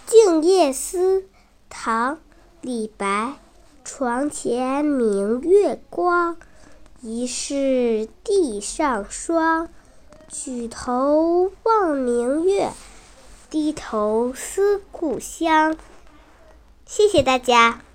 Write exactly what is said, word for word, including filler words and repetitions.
静夜思》唐·李白。床前明月光，疑是地上霜。举头望明月，低头思故乡。谢谢大家。